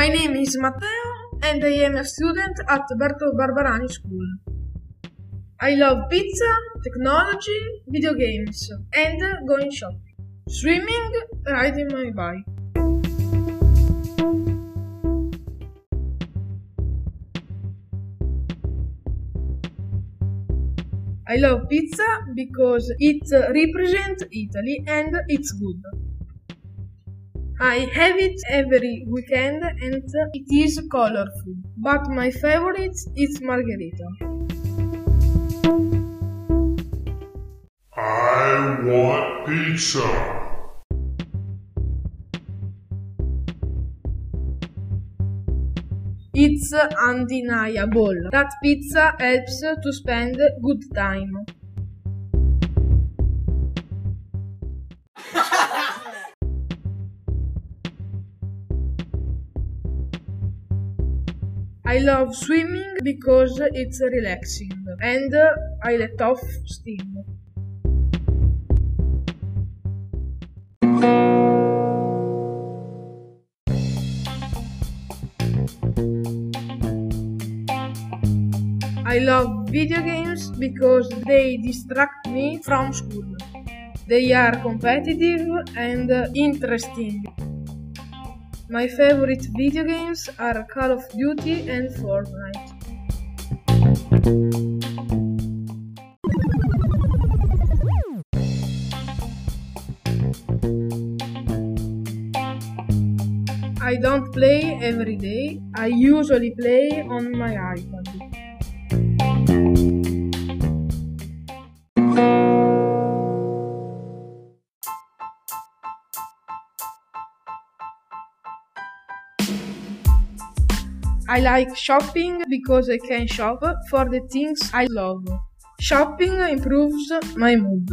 My name is Matteo and I am a student at Berto Barbarani School. I love pizza, technology, video games, and going shopping, swimming, riding my bike. I love pizza because it represents Italy and it's good. I have it every weekend and it is colorful, but my favorite is margherita. I want pizza. It's undeniable that pizza helps to spend good time. I love swimming because it's relaxing and I let off steam. I love video games because they distract me from school. They are competitive and interesting. My favorite video games are Call of Duty and Fortnite. I don't play every day. I usually play on my iPad. I like shopping because I can shop for the things I love. Shopping improves my mood.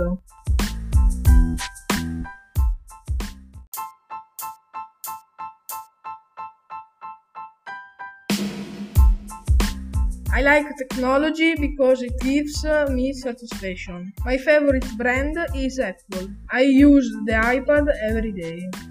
I like technology because it gives me satisfaction. My favorite brand is Apple. I use the iPad every day.